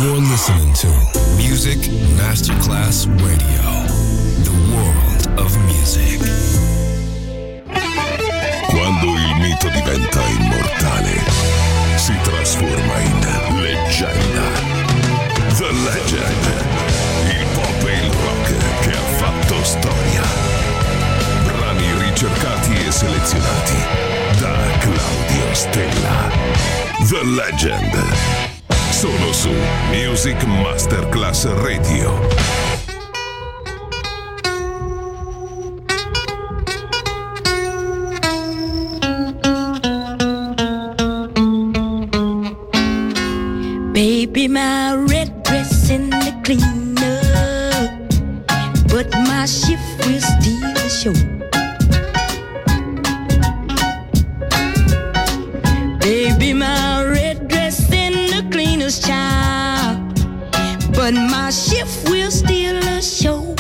You're listening to Music Masterclass Radio, the world of music. Quando il mito diventa immortale, si trasforma in leggenda. The Legend, il pop e il rock che ha fatto storia. Brani ricercati e selezionati da Claudio Stella. The Legend. Solo su Music Masterclass Radio. Baby, my red dress in the cleaner, but my shift will still show. Baby, my red dress in the cleaner's child, but my shift will still show.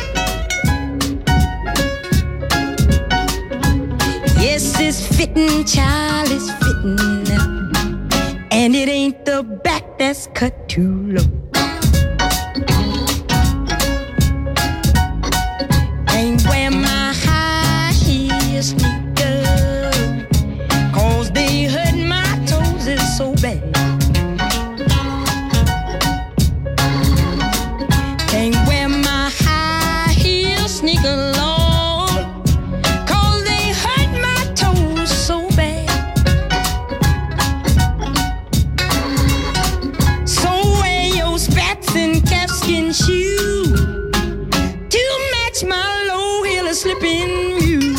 Yes, it's fitting, child, it's fitting, and it ain't the back that's cut too low. Ain't wear my high heel sneakers, 'cause they hurt my toes is so bad. Ain't wear my high heel sneakers, Lord, 'cause they hurt my toes so bad. So wear your spats and calfskin shoes to match my low heel slipping mule.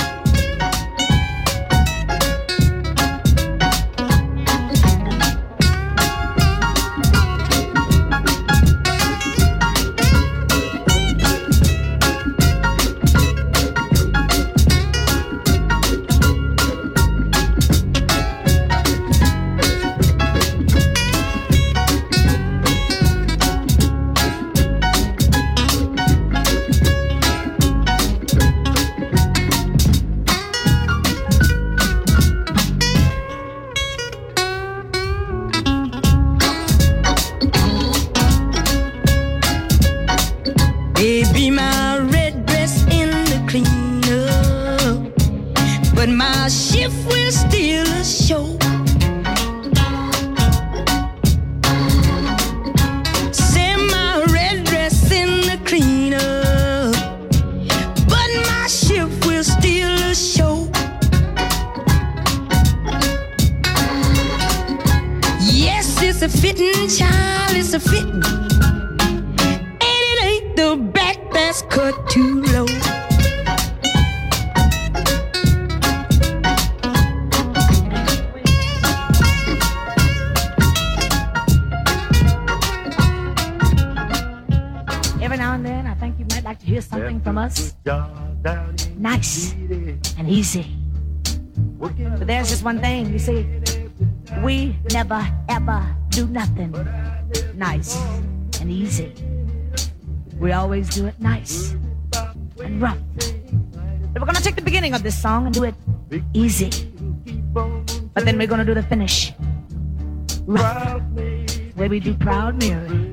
Baby, my red dress in the cleaner, but my shift will still show. Say my red dress in the cleaner, but my shift will still show. Yes, it's a fitting, child, it's a fitting, the back that's cut too low. Every now and then, I think you might like to hear something from us. Nice and easy. But there's just one thing, you see, we never ever do nothing nice and easy. We always do it nice and rough. But we're gonna take the beginning of this song and do it easy. But then we're gonna do the finish rough, the way we do Proud Mary.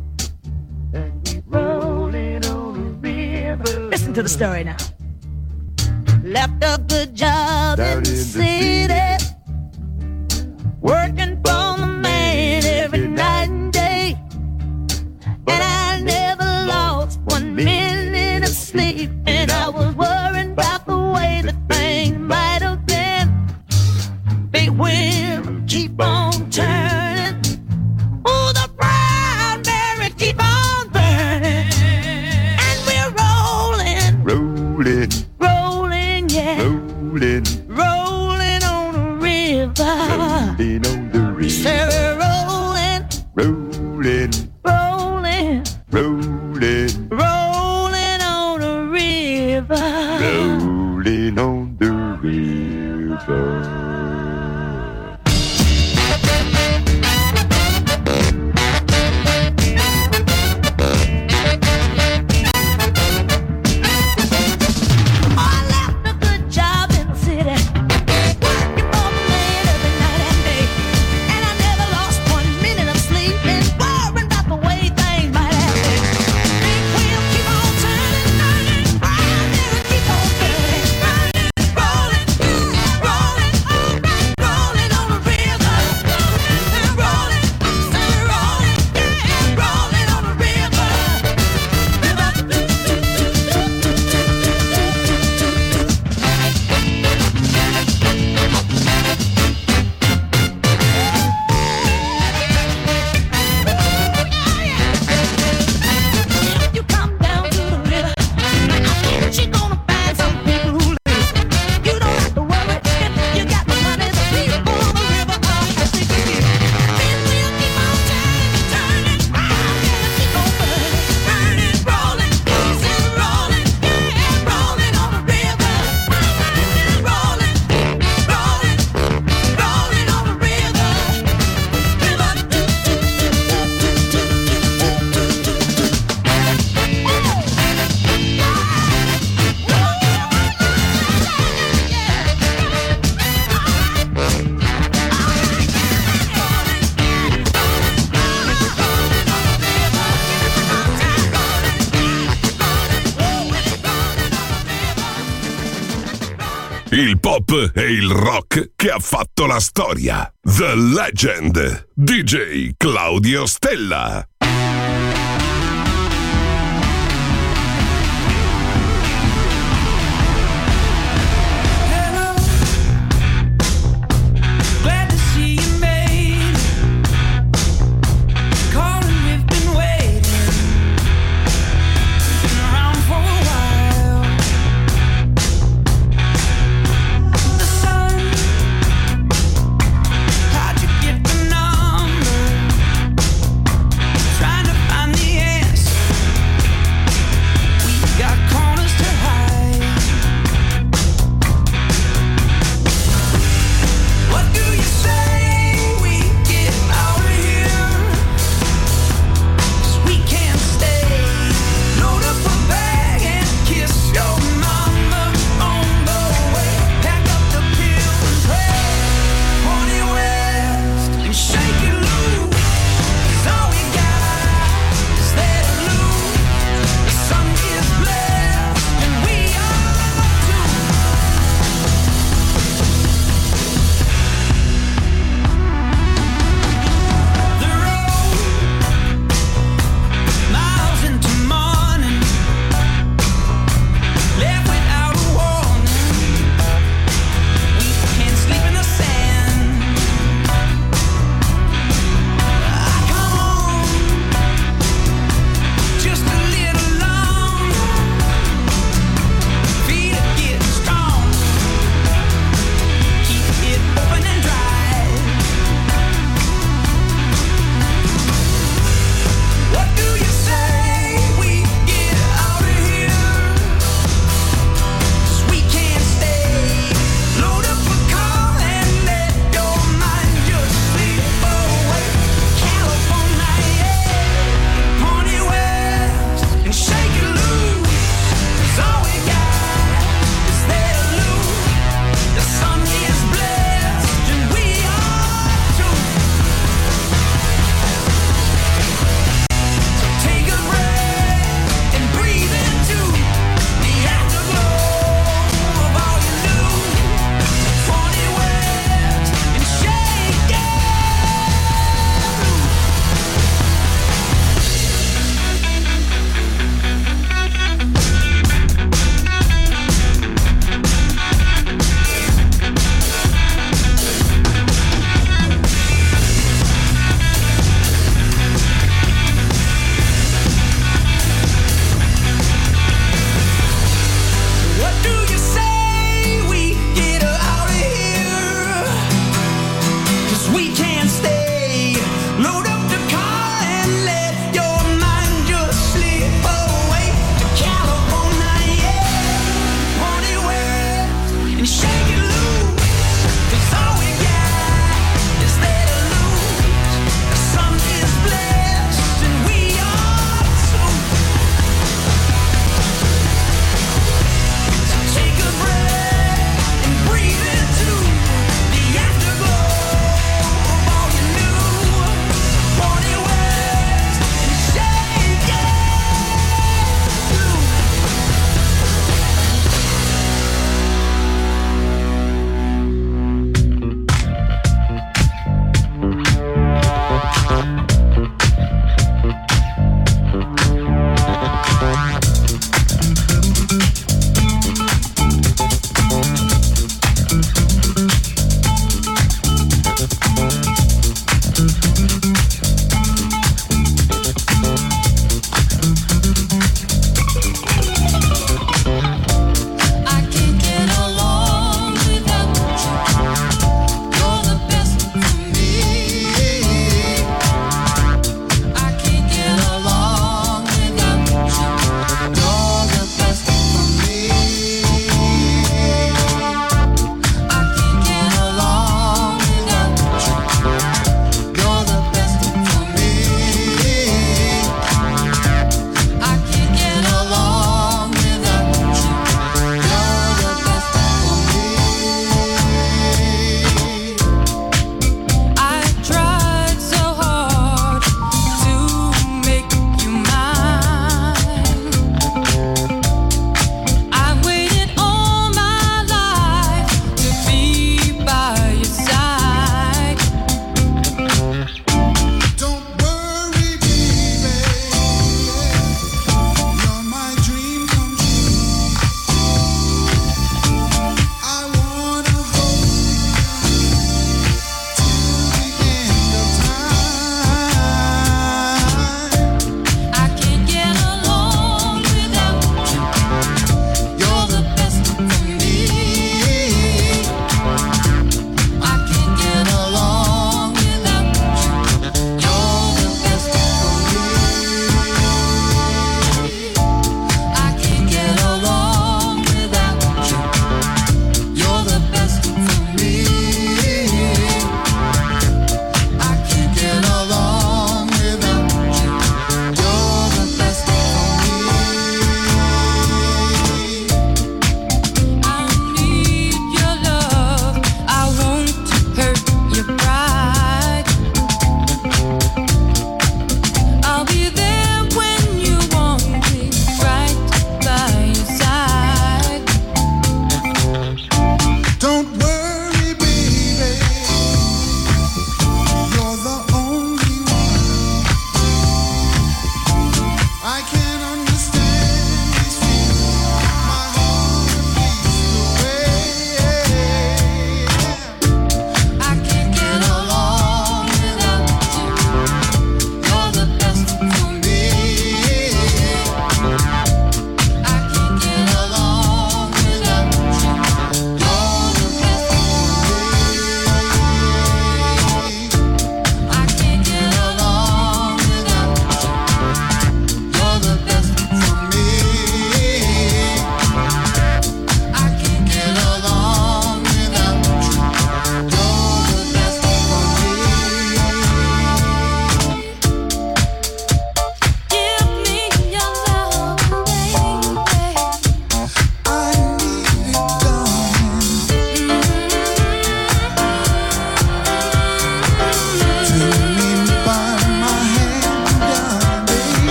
Rolling on the river. Listen to the story now. Left a good job in the city, working for the man every night and day, and I never lost 1 minute of sleep, and I was worried about the way that things might have been. Big wheel keep on turning, oh, the Proud Mary keep on burning, and we're rolling, rolling, yeah, rolling on the river, rolling on the river. Say we're rolling, rolling, rolling, rolling on the river, rolling on the river. Working for the man every night and day, and I never lost 1 minute of sleep, and worrying il pop e il rock che ha fatto la storia. The Legend, DJ Claudio Stella.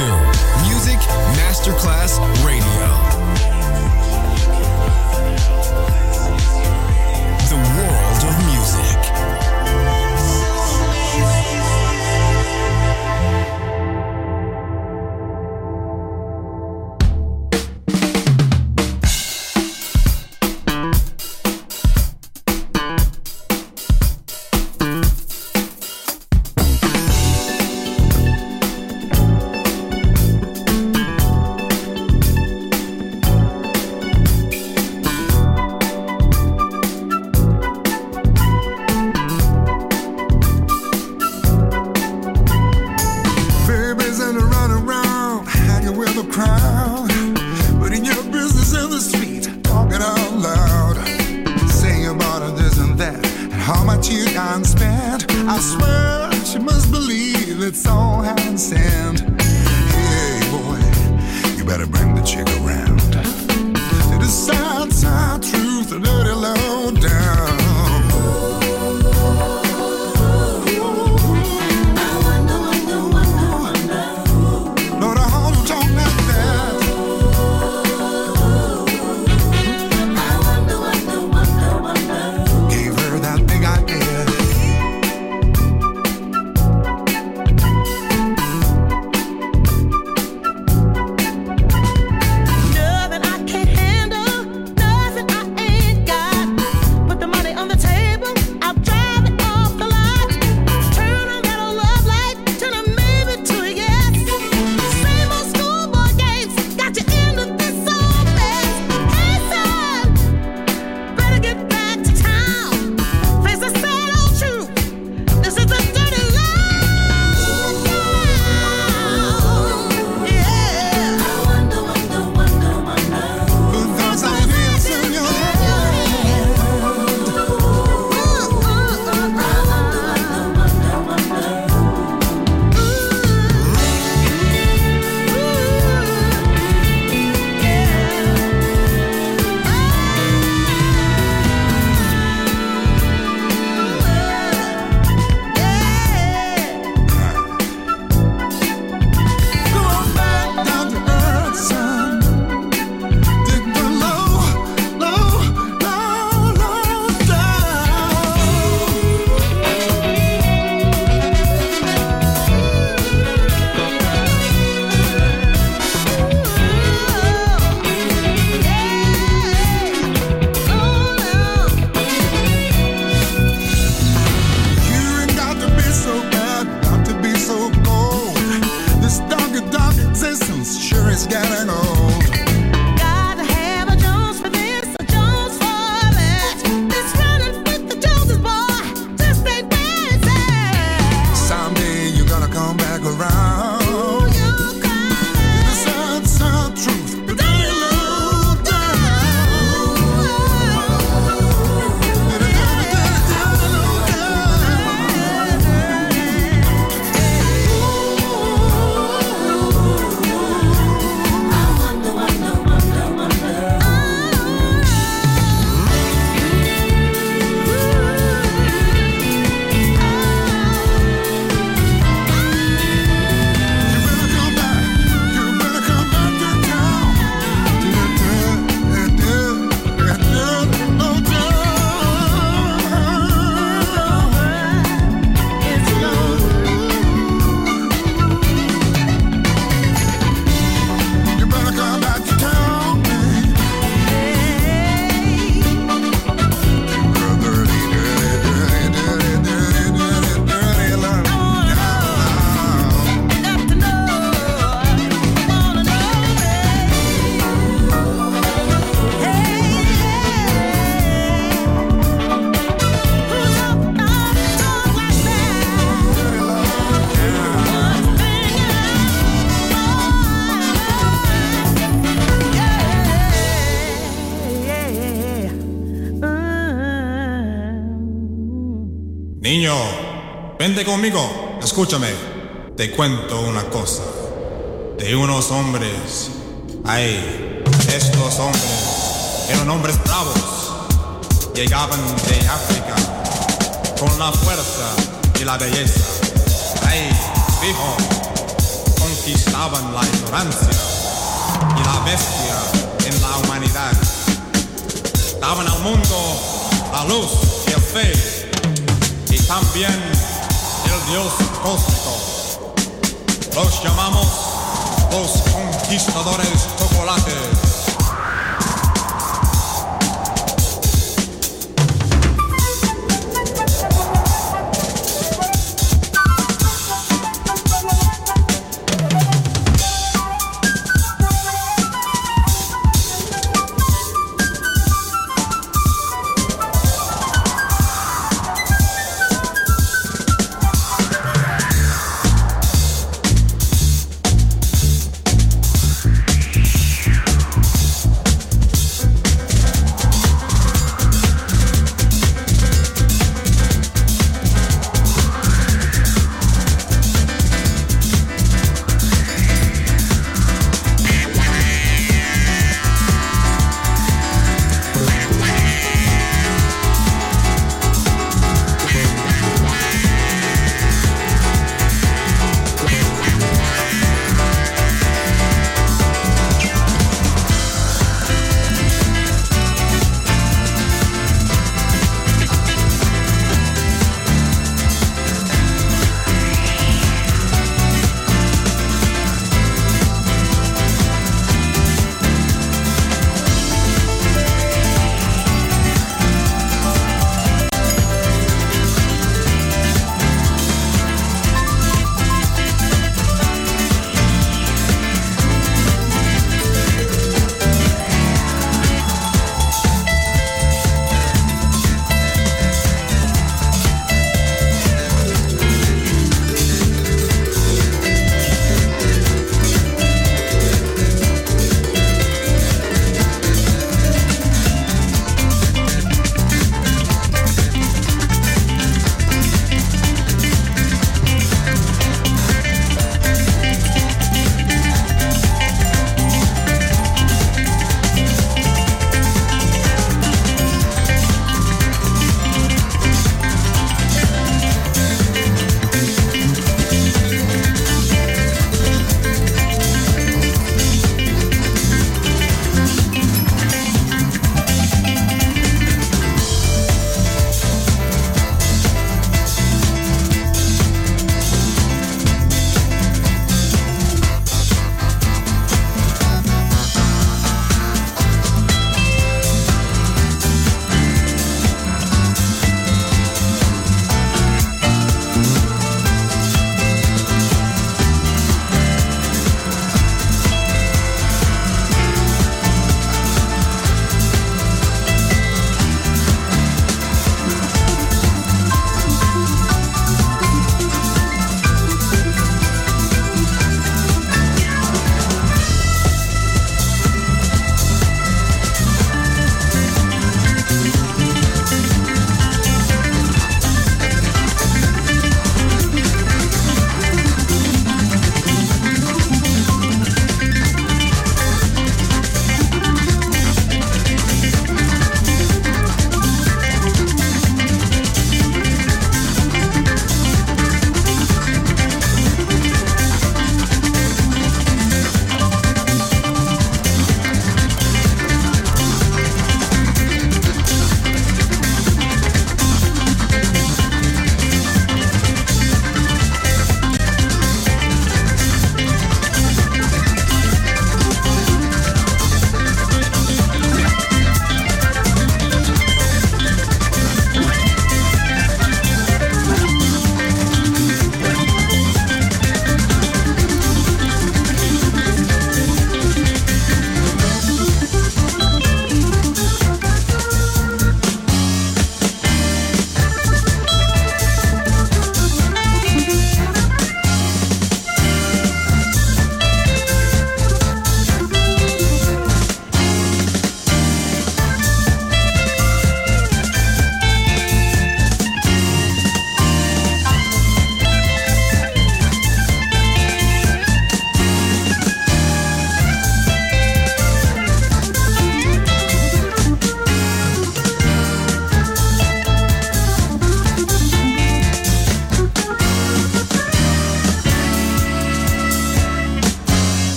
to Music Masterclass Radio. The world of music. Niño, vente conmigo, escúchame. Te cuento una cosa. De unos hombres, estos hombres eran hombres bravos. Llegaban de África con la fuerza y la belleza. Dijo, conquistaban la ignorancia y la bestia en la humanidad. Daban al mundo la luz y el fe, y también el Dios cósmico. Los llamamos los conquistadores chocolates.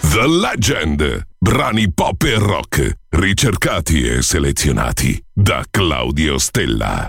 The Legend. Brani pop e rock, ricercati e selezionati da Claudio Stella.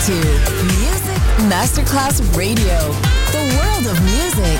to Music Masterclass Radio, the world of music.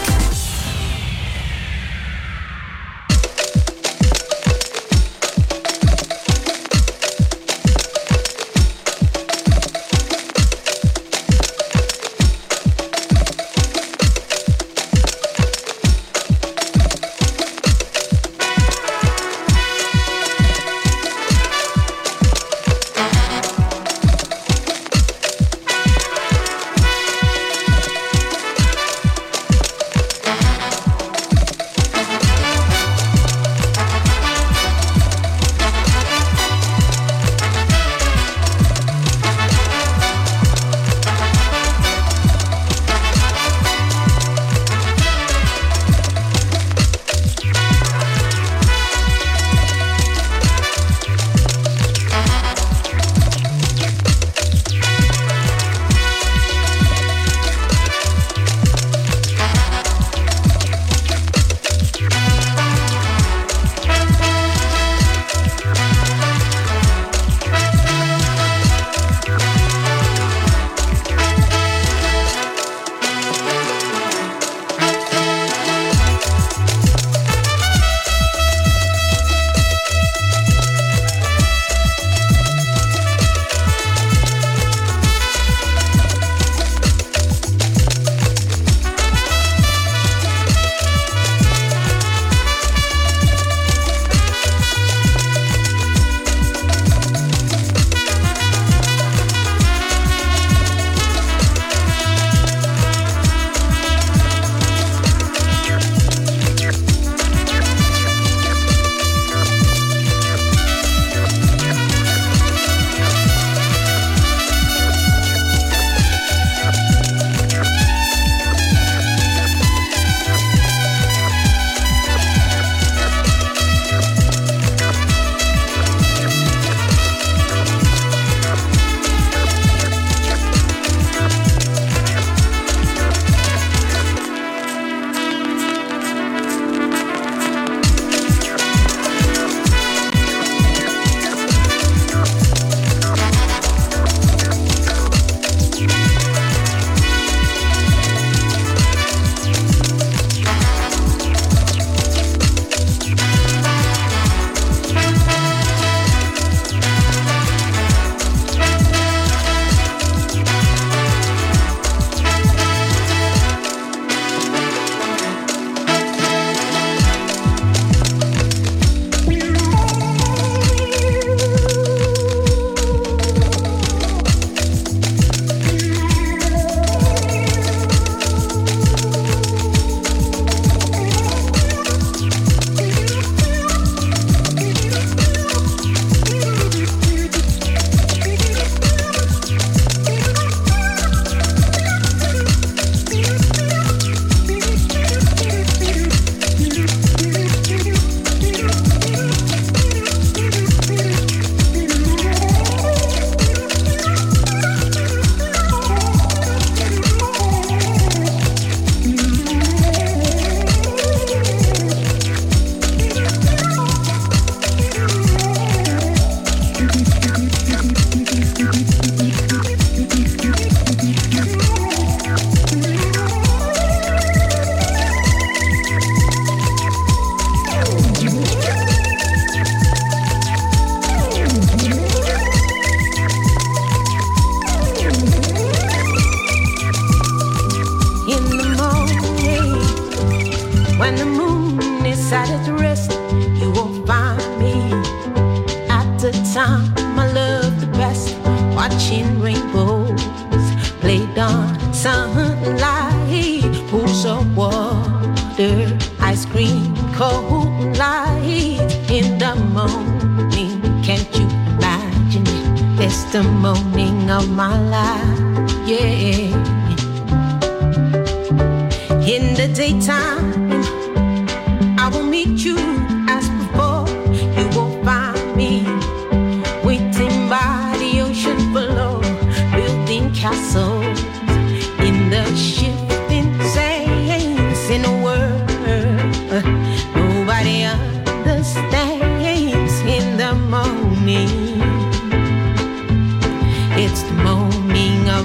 It's the morning of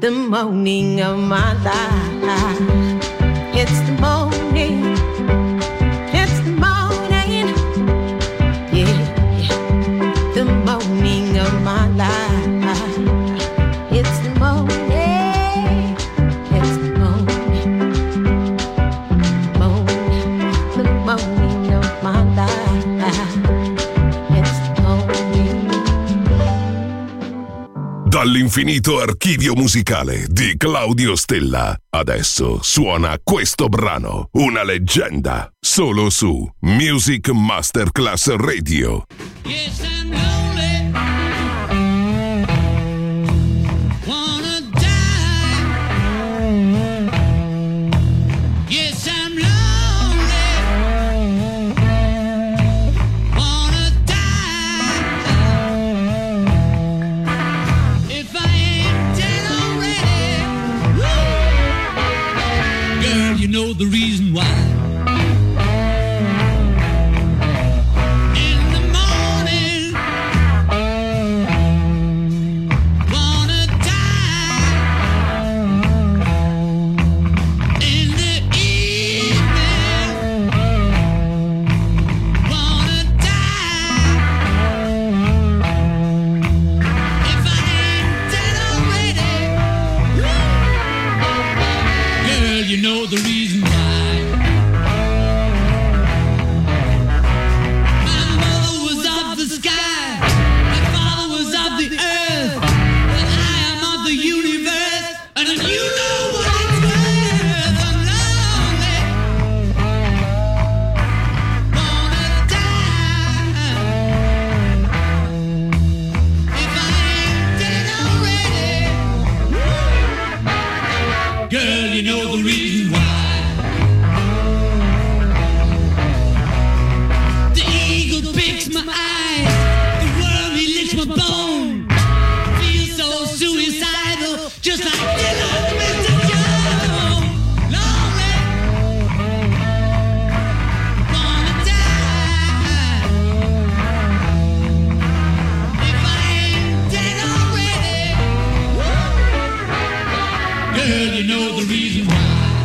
the morning of my life. It's the morning. It's the morning. Yeah, the morning of my life. It's the morning. It's the morning. Morning. The morning of my life. It's the morning. Dall'infinito archivio musicale di Claudio Stella. Adesso suona questo brano, una leggenda, solo su Music Masterclass Radio. Yes, I'm lonely. Wanna die. Yes, I'm lonely. Wanna die. If I ain't dead already. Woo! Girl, you know the reason why. You know the reason why. My mother was of the sky, my father was of the earth, and I am of the universe, and you know what it's worth. I'm lonely, wanna die. If I ain't dead already, girl, you know the reason why. The eagle picks my eyes, the worm he licks my bone. Feel so suicidal, just like Dylan, Mr. Jones. Lonely, wanna die. If I ain't dead already, girl, you know the reason why.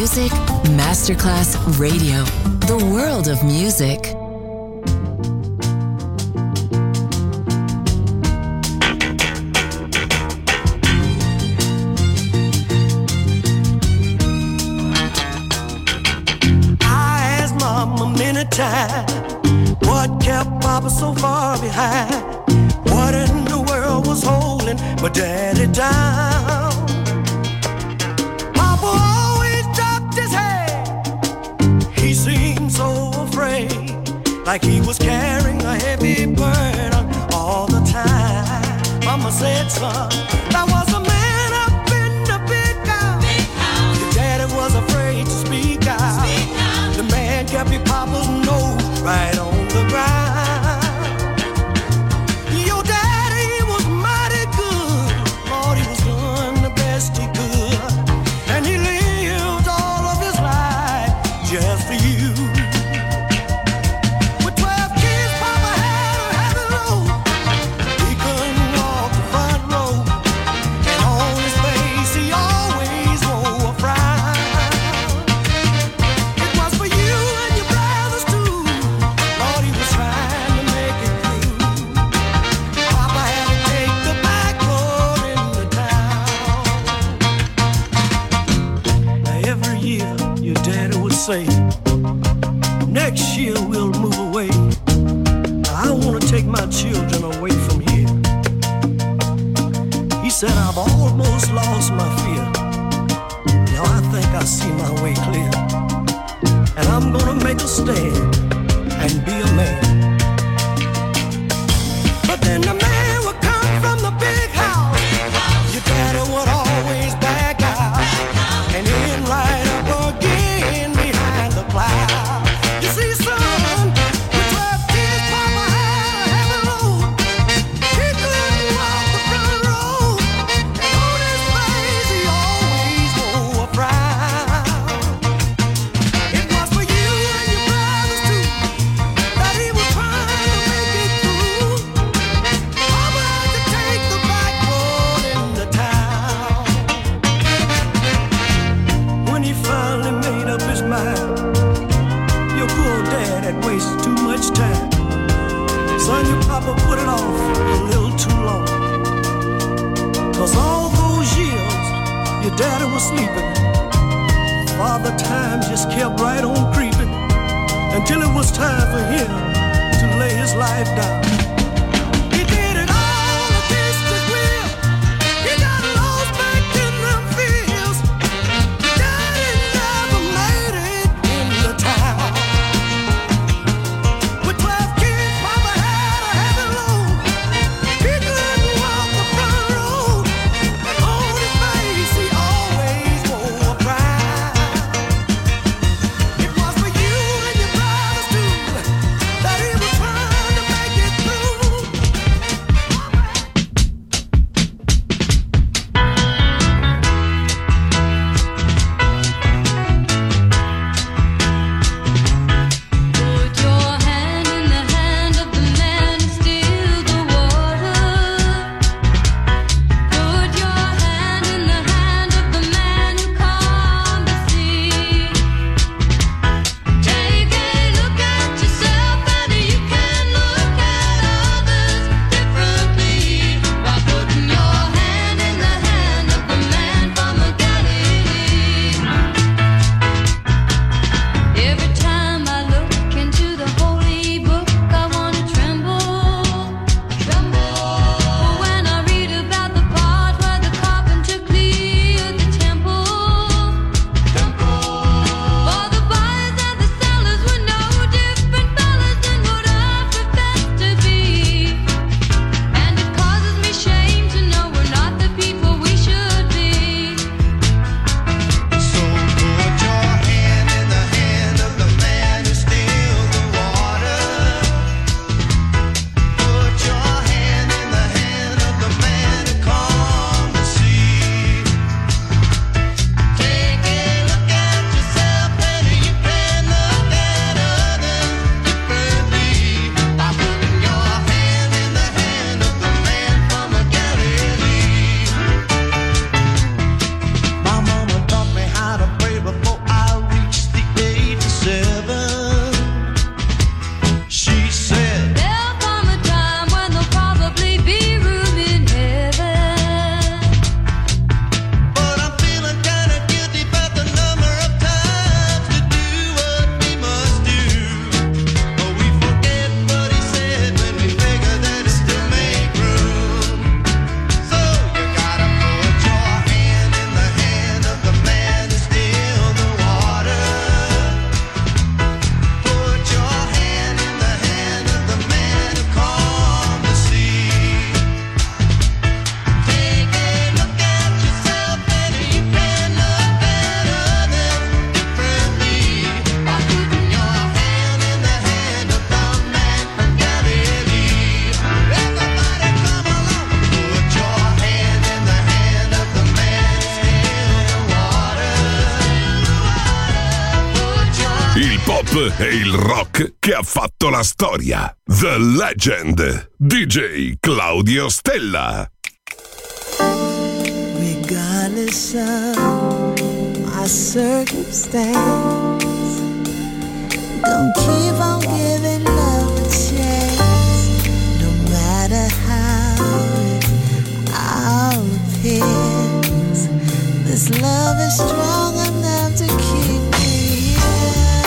Music Masterclass Radio. The world of music. I asked Mama many times what kept Papa so far behind. What in the world was holding my daddy down? Papa always dropped his head. He seemed so afraid, like he was carrying a heavy burden all the time. Mama said, son, that was a man up in the big house. Your daddy was afraid to speak out. The man kept your papa's nose right on the ground. Your daddy was mighty good. Lord, he was doing the best he could. And he lived all of his life just for you. With 12 kids, Papa had a heavy load. He couldn't walk the front row. And on his face, he always wore a frown. It was for you and your brothers too. Lord, he was trying to make it through. Papa had to take the back road into town. Now every year your daddy would say, next year we'll move away. I want to take my children away from here. He said, I've almost lost my fear. Now I think I see my way clear. And I'm gonna make a stand and be a man. But then the man would come from the big house. Your daddy would always back out and in right up again behind the plow. You see, son, with 12 kids, Papa had a heavy load. He couldn't walk the front road, and on his face he always wore a frown. It was for you and your brothers too that he was trying to make it through. Papa had to take the back road into town. When he finally made up his mind, your poor dad had wasted too much time. Son, your papa put it off a little too long. 'Cause all those years your daddy was sleeping, Father Time just kept right on creeping until it was time for him to lay his life down. He did it all against his will. He got lost back in them fields. Daddy never made it in the town. With 12 kids, Papa had a heavy load. He couldn't walk the front road. And on his face, he always wore a frown. It was for you and your brothers too that he was trying to make it through. pop e il rock che ha fatto la storia. The Legend, DJ Claudio Stella. Regardless of my circumstance, gonna keep on giving love a chance, no matter how it all appears. This love is strong enough to keep me here.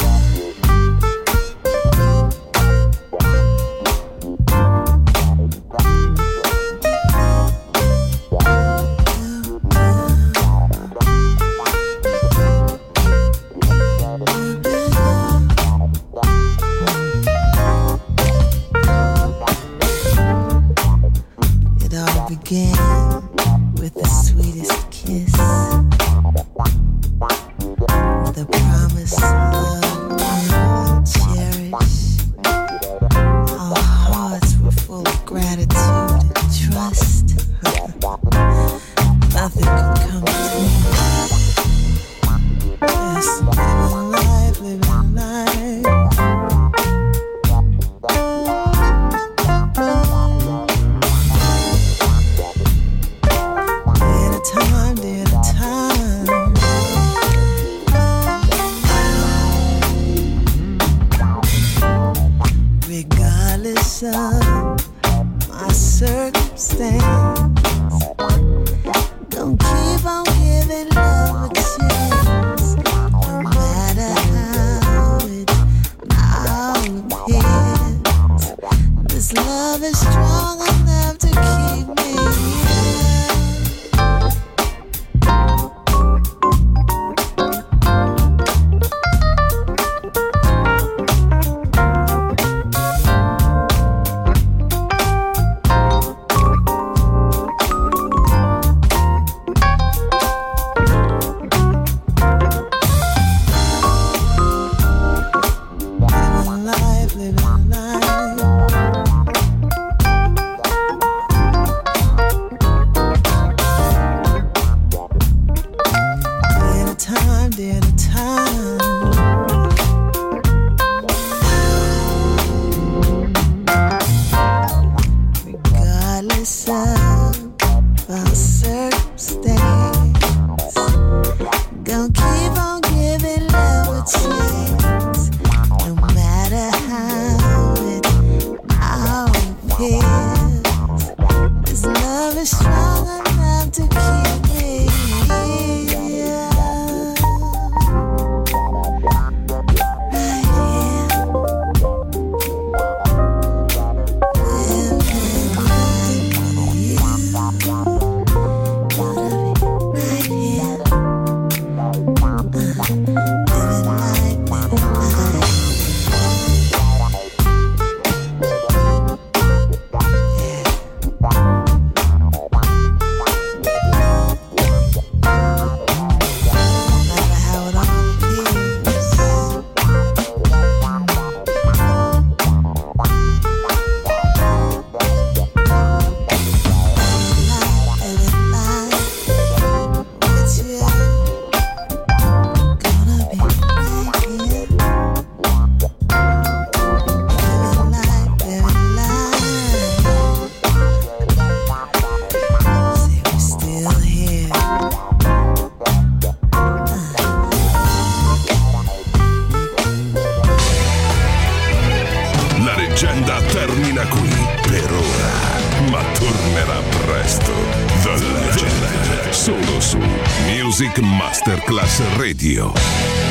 It all began with the sweetest kiss, the promise love we'll cherish. Our hearts were full of gratitude and trust. Nothing could come between us. Just living life, living life. Day at a time. Regardless of my circumstance, don't keep on giving love a chance, no matter how it all appears. This love is strong enough to keep me here. Termina qui per ora, ma tornerà presto. The Legend, solo su Music Masterclass Radio.